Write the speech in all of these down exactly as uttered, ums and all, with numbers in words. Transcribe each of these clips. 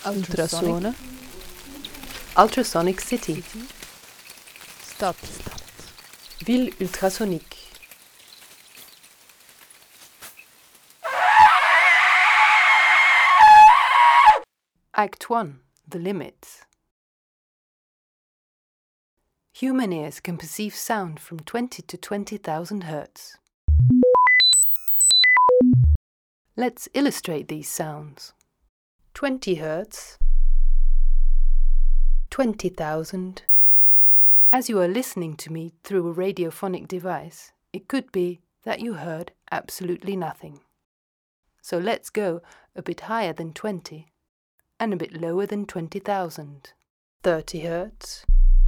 Ultrasonic. Ultrasonic City. Stop. Stop. Ville ultrasonique. Act one. The limits. Human ears can perceive sound from twenty to twenty thousand hertz. Let's illustrate these sounds. twenty hertz, twenty thousand. As you are listening to me through a radiophonic device, it could be that you heard absolutely nothing. So let's go a bit higher than twenty and a bit lower than twenty thousand. thirty hertz,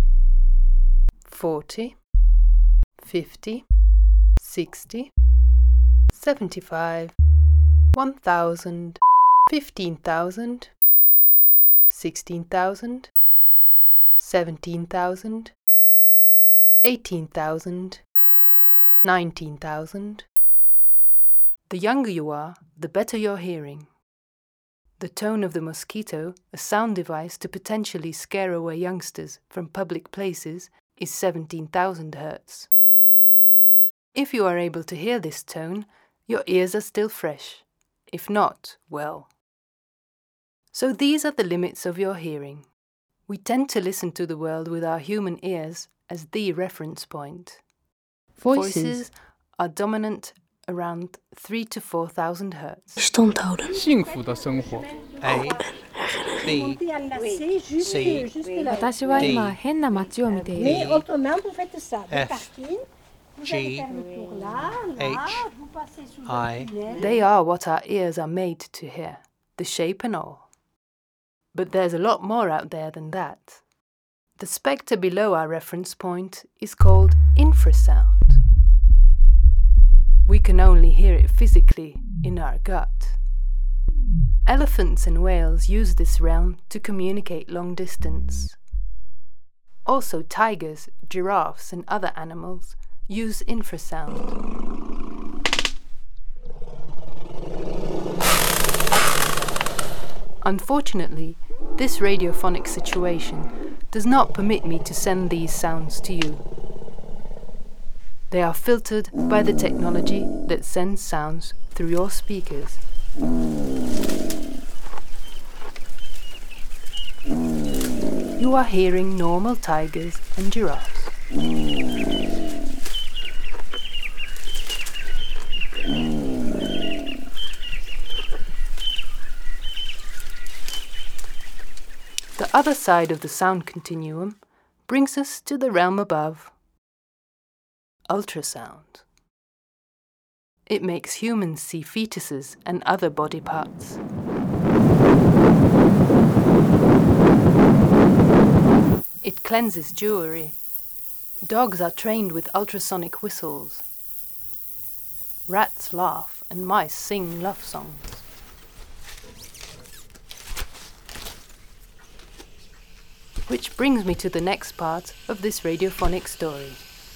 forty, fifty, sixty, seventy-five, one thousand, fifteen thousand, sixteen thousand, seventeen thousand, eighteen thousand, nineteen thousand. The younger you are, the better your hearing. The tone of the mosquito, a sound device to potentially scare away youngsters from public places, is seventeen thousand hertz. If you are able to hear this tone, your ears are still fresh. If not, well. So these are the limits of your hearing. We tend to listen to the world with our human ears as the reference point. Voices, Voices are dominant around three to four thousand hertz. 幸福的生活 A, B, C, 私は今変な街を見ている。 F, G, H, I, They are what our ears are made to hear, the shape and all. But there's a lot more out there than that. The spectre below our reference point is called infrasound. We can only hear it physically in our gut. Elephants and whales use this realm to communicate long distance. Also tigers, giraffes and other animals use infrasound. Unfortunately, this radiophonic situation does not permit me to send these sounds to you. They are filtered by the technology that sends sounds through your speakers. You are hearing normal tigers and giraffes. The other side of the sound continuum brings us to the realm above. Ultrasound. It makes humans see fetuses and other body parts. It cleanses jewelry. Dogs are trained with ultrasonic whistles. Rats laugh and mice sing love songs. Which brings me to the next part of this radiophonic story.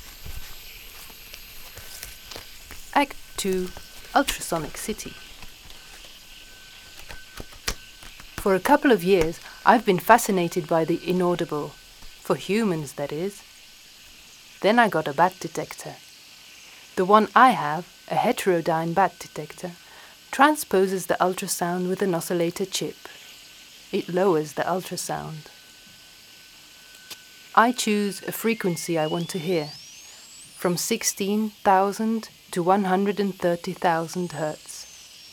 Act two. Ultrasonic City. For a couple of years, I've been fascinated by the inaudible, for humans that is. Then I got a bat detector. The one I have, a heterodyne bat detector, transposes the ultrasound with an oscillator chip. It lowers the ultrasound. I choose a frequency I want to hear, from sixteen thousand to one hundred thirty thousand hertz.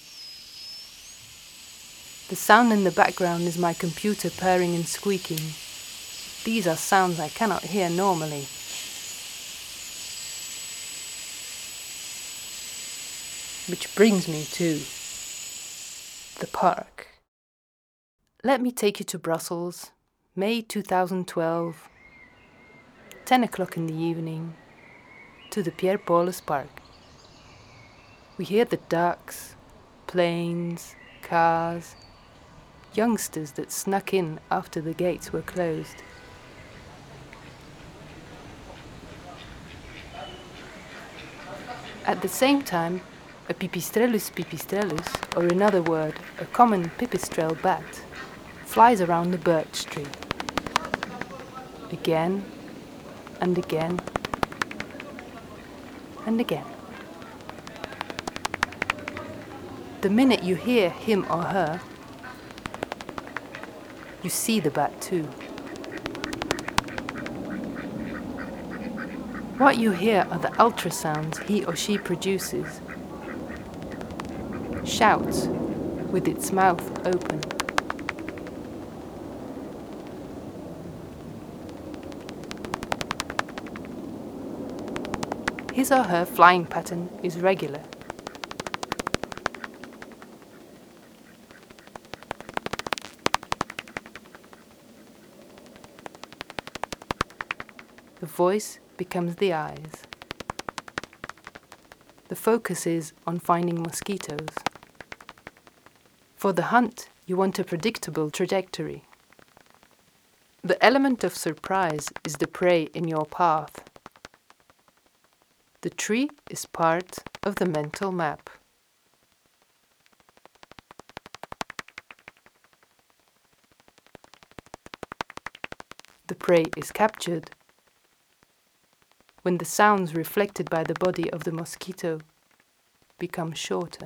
The sound in the background is my computer purring and squeaking. These are sounds I cannot hear normally. Which brings me to the park. Let me take you to Brussels, May two thousand twelve, ten o'clock in the evening, to the Pierre Paulus Park. We hear the ducks, planes, cars, youngsters that snuck in after the gates were closed. At the same time, a Pipistrellus pipistrellus, or in other word, a common pipistrelle bat, flies around the birch tree. Again and again and again. The minute you hear him or her, you see the bat too. What you hear are the ultrasounds he or she produces. Shouts with its mouth open. His or her flying pattern is regular. The voice becomes the eyes. The focus is on finding mosquitoes. For the hunt, you want a predictable trajectory. The element of surprise is the prey in your path. The tree is part of the mental map. The prey is captured when the sounds reflected by the body of the mosquito become shorter.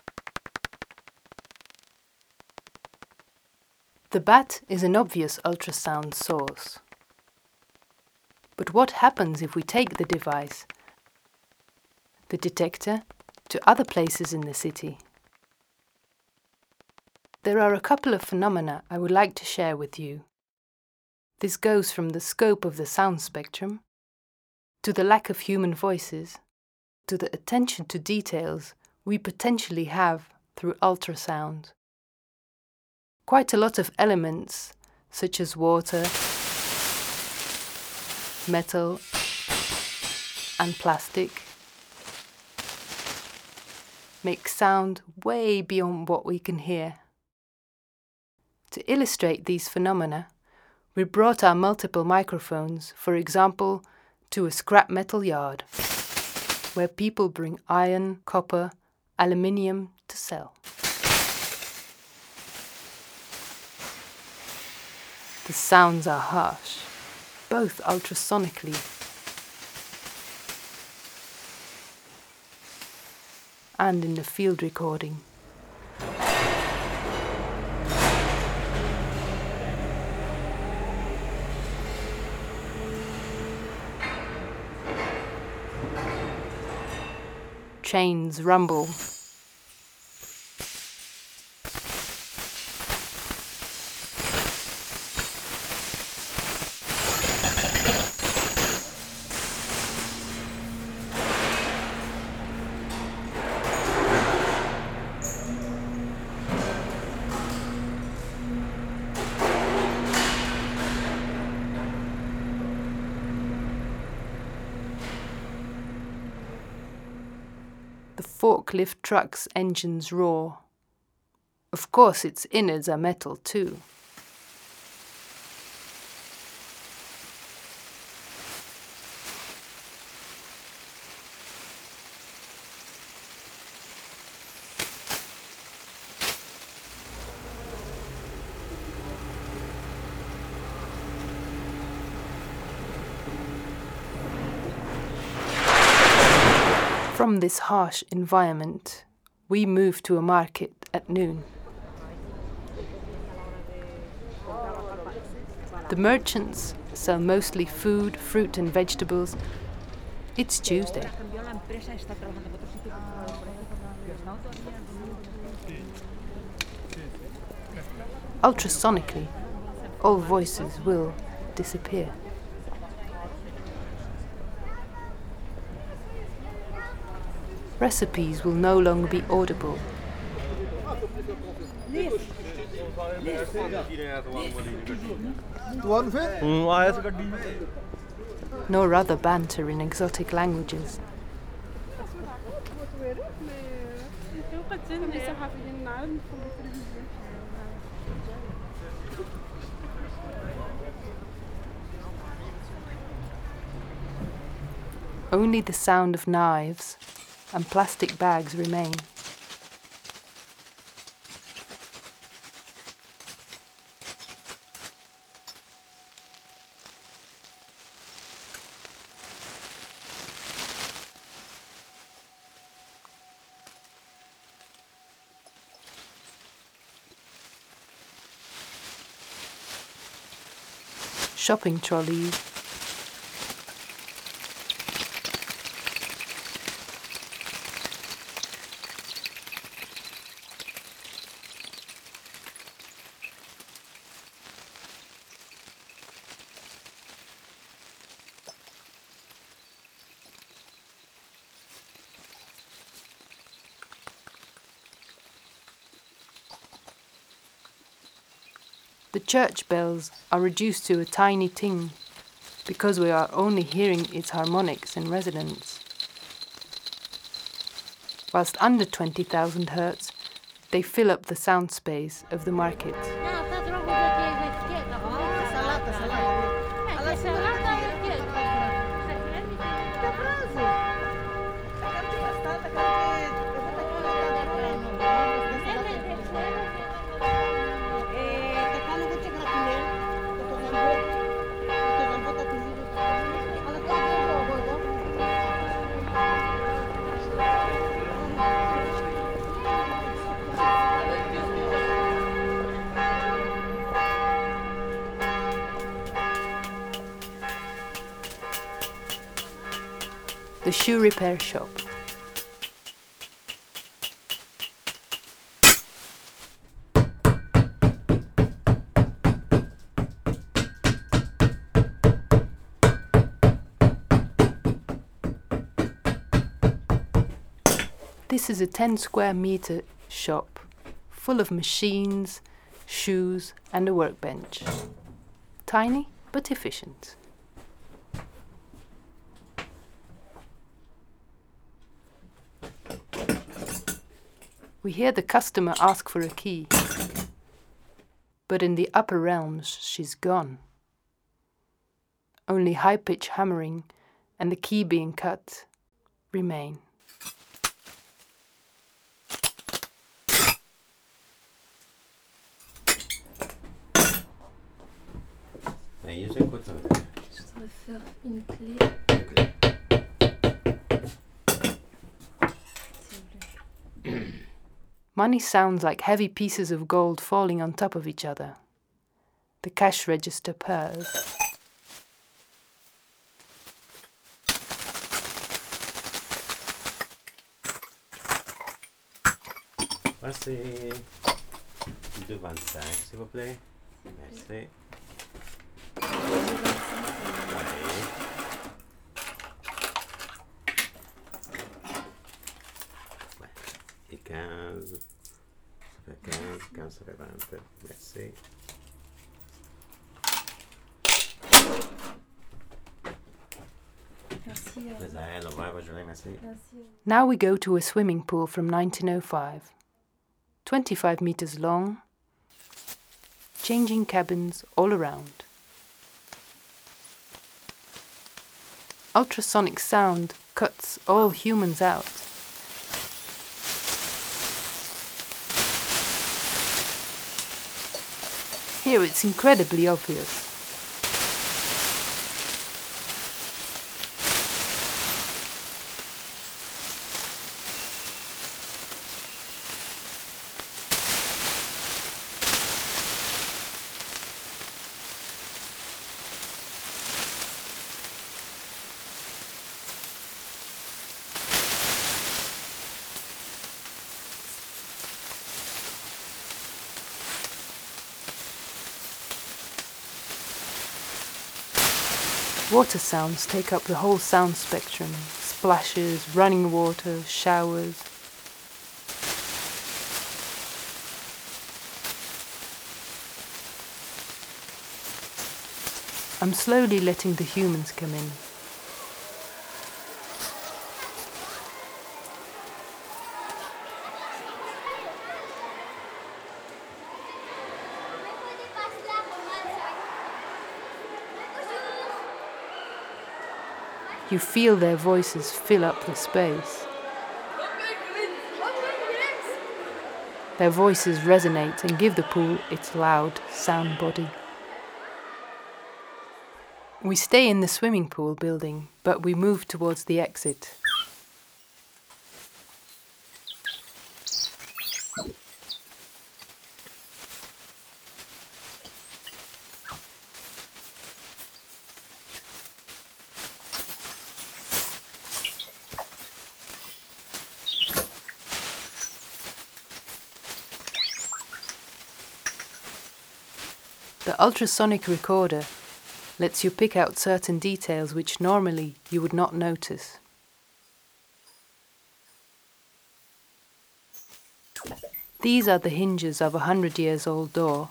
The bat is an obvious ultrasound source. But what happens if we take the device, the detector, to other places in the city? There are a couple of phenomena I would like to share with you. This goes from the scope of the sound spectrum to the lack of human voices, to the attention to details we potentially have through ultrasound. Quite a lot of elements, such as water, metal, and plastic, make sound way beyond what we can hear. To illustrate these phenomena, we brought our multiple microphones, for example, to a scrap metal yard, where people bring iron, copper, aluminium to sell. The sounds are harsh, both ultrasonically and in the field recording. Chains rumble. The forklift truck's engines roar. Of course, its innards are metal too. From this harsh environment, we move to a market at noon. The merchants sell mostly food, fruit and vegetables. It's Tuesday. Ultrasonically, all voices will disappear. Recipes will no longer be audible. Nor other banter in exotic languages. Only the sound of knives and plastic bags remain. shopping trolleys. The church bells are reduced to a tiny ting because we are only hearing its harmonics in resonance. Whilst under twenty thousand hertz, they fill up the sound space of the market. The shoe repair shop. This is a ten square meter shop full of machines, shoes and a workbench. Tiny but efficient. We hear the customer ask for a key, but in the upper realms she's gone. Only high-pitch hammering and the key being cut remain. Je voudrais faire une clé. Money sounds like heavy pieces of gold falling on top of each other. The cash register purrs. Voici deux vingt-cinq, s'il vous plaît. Merci. Et quinze, ça fait quinze, quinze, ça fait vingt, merci. Merci. Now we go to a swimming pool from nineteen oh five. twenty-five meters long, changing cabins all around. Ultrasonic sound cuts all humans out. Here it's incredibly obvious. Water sounds take up the whole sound spectrum. Splashes, running water, showers. I'm slowly letting the humans come in. You feel their voices fill up the space. Their voices resonate and give the pool its loud sound body. We stay in the swimming pool building, but we move towards the exit. The ultrasonic recorder lets you pick out certain details which normally you would not notice. These are the hinges of a hundred years old door.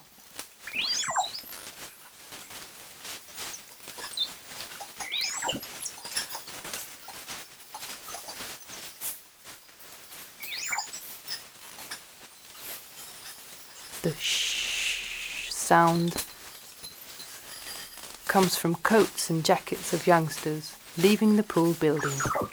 The shh sound comes from coats and jackets of youngsters leaving the pool building.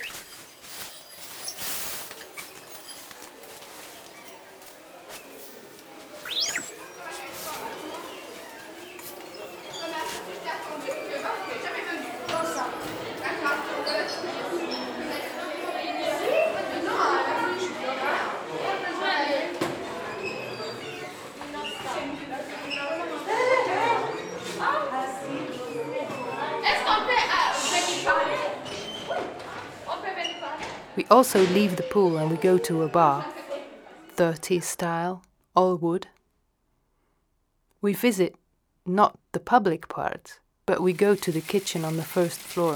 We also leave the pool and we go to a bar, thirties style, all wood. We visit not the public part, but we go to the kitchen on the first floor.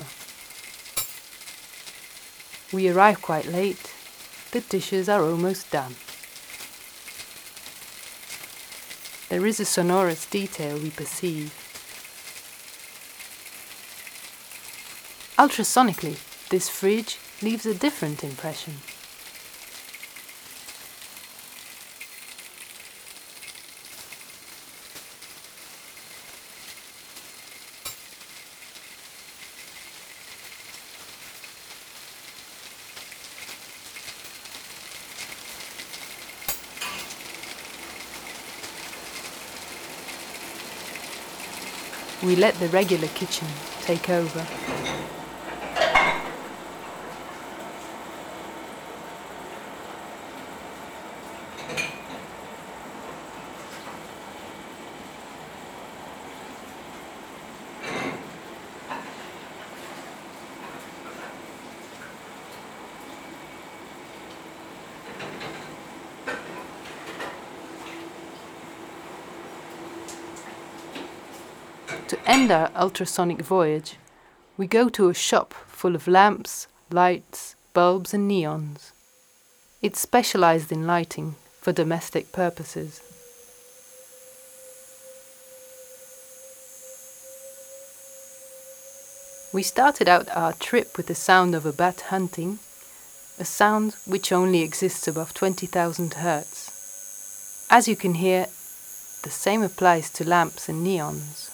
We arrive quite late. The dishes are almost done. There is a sonorous detail we perceive. Ultrasonically, this fridge leaves a different impression. We let the regular kitchen take over. To end our ultrasonic voyage, we go to a shop full of lamps, lights, bulbs and neons. It's specialized in lighting for domestic purposes. We started out our trip with the sound of a bat hunting, a sound which only exists above twenty thousand hertz. As you can hear, the same applies to lamps and neons.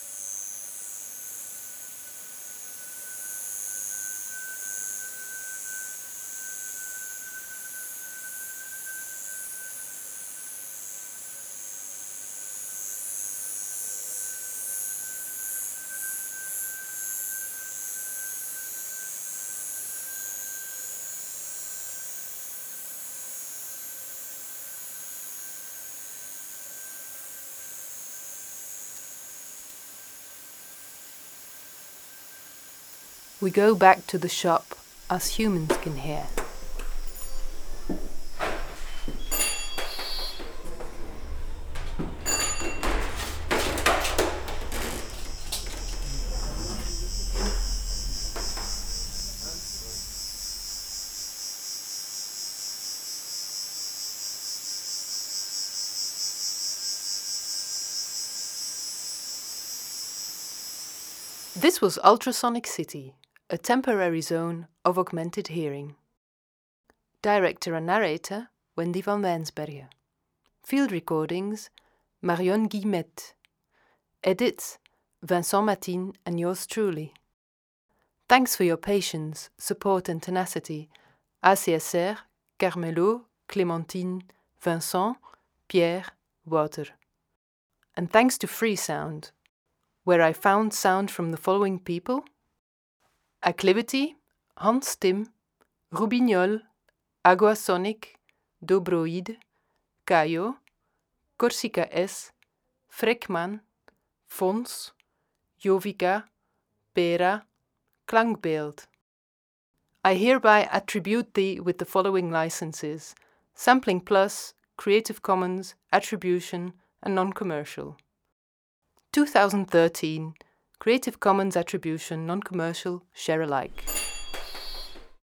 We go back to the shop as humans can hear. This was Ultrasonic City, a temporary zone of augmented hearing. Director and narrator, Wendy van Wijnsbergen. Field recordings, Marion Guillemette. Edits, Vincent Matin and yours truly. Thanks for your patience, support and tenacity. A C S R, Carmelo, Clémentine, Vincent, Pierre, Wouter. And thanks to Freesound, where I found sound from the following people: Acclivity, Hans Tim, Rubignol, Aguasonic, Dobroid, Caio, Corsica S, Frekman, Fons, Jovica, Pera, Klankbeeld. I hereby attribute thee with the following licenses: Sampling Plus, Creative Commons, Attribution, and Non-Commercial. two thousand thirteen. Creative Commons Attribution, Non-Commercial, Share Alike.